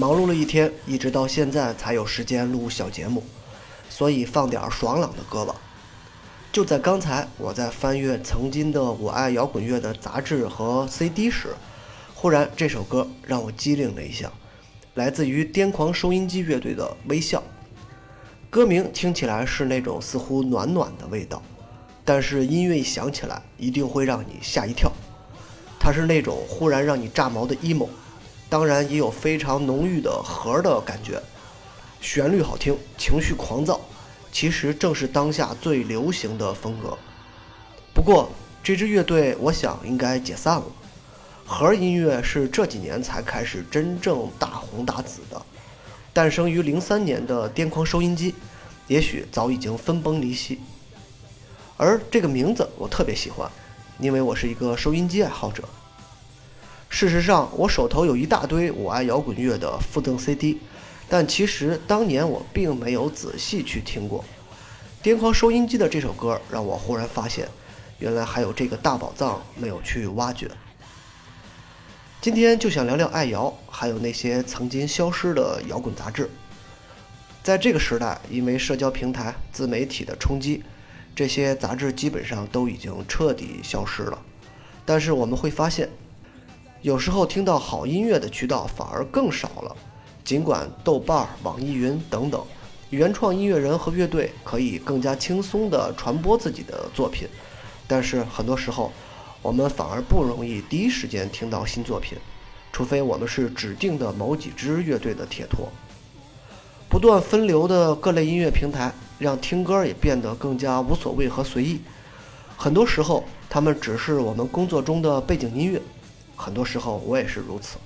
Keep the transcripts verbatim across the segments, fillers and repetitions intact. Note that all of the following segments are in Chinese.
忙碌了一天，一直到现在才有时间录小节目，所以放点爽朗的歌吧。就在刚才，我在翻阅曾经的我爱摇滚乐的杂志和 C D 时，忽然这首歌让我机灵了一下，来自于癫狂收音机乐队的《微笑》。歌名听起来是那种似乎暖暖的味道，但是音乐一响起来一定会让你吓一跳。它是那种忽然让你炸毛的 emo， 当然也有非常浓郁的核的感觉。旋律好听，情绪狂躁，其实正是当下最流行的风格。不过这支乐队我想应该解散了，核音乐是这几年才开始真正大红大紫的，诞生于零三年的癫狂收音机也许早已经分崩离析。而这个名字我特别喜欢，因为我是一个收音机爱好者。事实上我手头有一大堆我爱摇滚乐的附赠 C D， 但其实当年我并没有仔细去听过。癫狂收音机的这首歌让我忽然发现，原来还有这个大宝藏没有去挖掘。今天就想聊聊爱摇，还有那些曾经消失的摇滚杂志。在这个时代，因为社交平台、自媒体的冲击，这些杂志基本上都已经彻底消失了。但是我们会发现，有时候听到好音乐的渠道反而更少了。尽管豆瓣、网易云等等原创音乐人和乐队可以更加轻松地传播自己的作品，但是很多时候我们反而不容易第一时间听到新作品，除非我们是指定的某几支乐队的铁托。不断分流的各类音乐平台让听歌也变得更加无所谓和随意，很多时候他们只是我们工作中的背景音乐，很多时候我也是如此。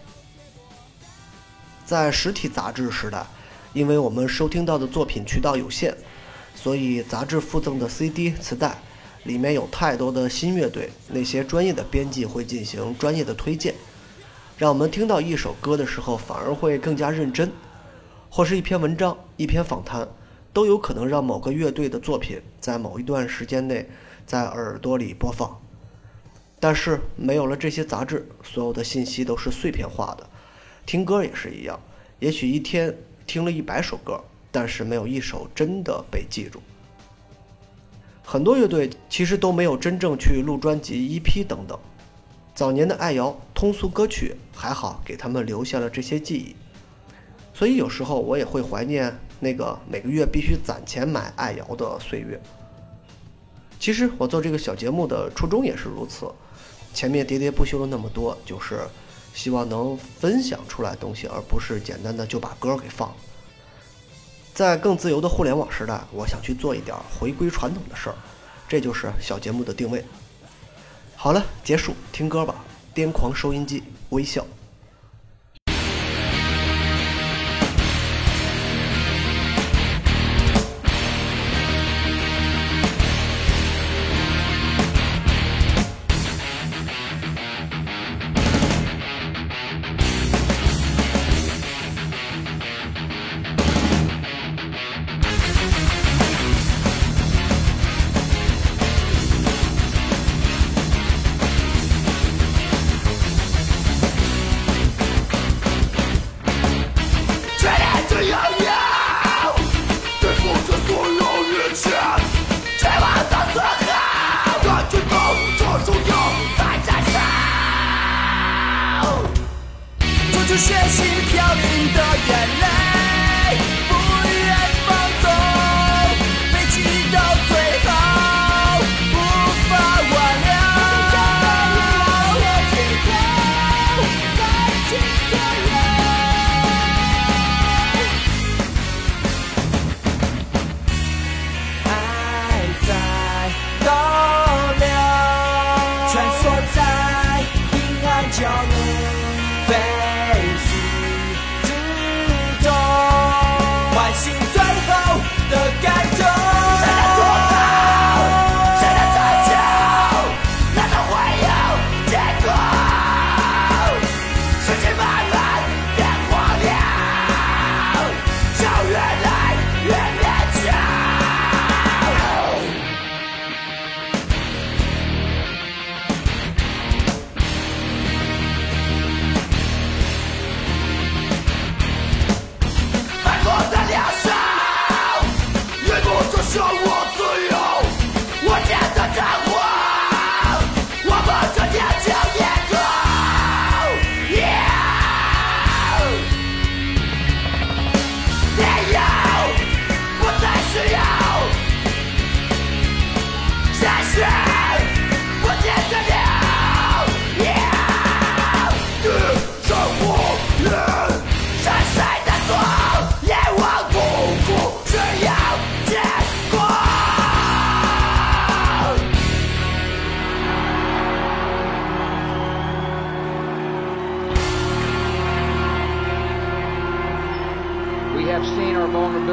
在实体杂志时代，因为我们收听到的作品渠道有限，所以杂志附赠的 C D 磁带里面有太多的新乐队，那些专业的编辑会进行专业的推荐，让我们听到一首歌的时候反而会更加认真，或是一篇文章、一篇访谈，都有可能让某个乐队的作品在某一段时间内在耳朵里播放。但是没有了这些杂志，所有的信息都是碎片化的，听歌也是一样，也许一天听了一百首歌，但是没有一首真的被记住。很多乐队其实都没有真正去录专辑、E P 等等。早年的爱摇通俗歌曲还好给他们留下了这些记忆，所以有时候我也会怀念那个每个月必须攒钱买爱摇的岁月。其实我做这个小节目的初衷也是如此，前面喋喋不休了那么多，就是希望能分享出来东西，而不是简单的就把歌给放了。在更自由的互联网时代，我想去做一点回归传统的事儿，这就是小节目的定位。好了，结束，听歌吧，癫狂收音机，微笑。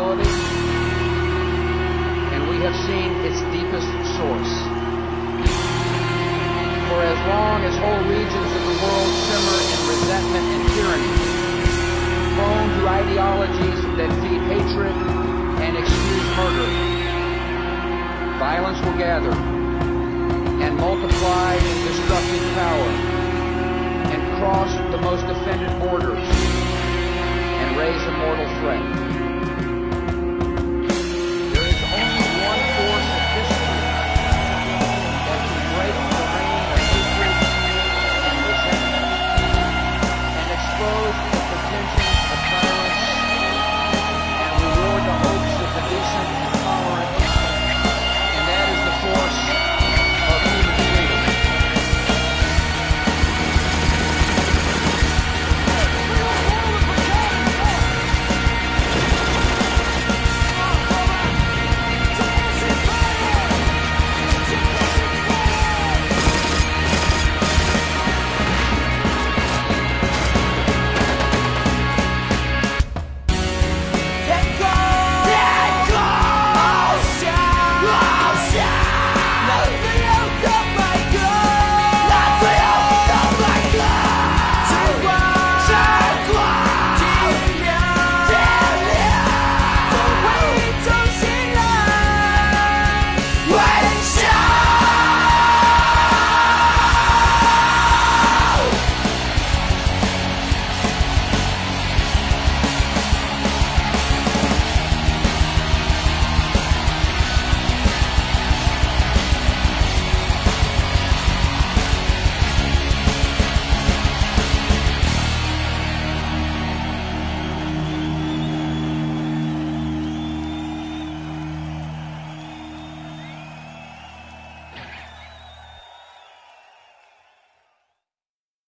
instability, and we have seen its deepest source. For as long as whole regions of the world simmer in resentment and tyranny, prone to ideologies that feed hatred and excuse murder, violence will gather and multiply in destructive power and cross the most offended borders and raise a mortal threat.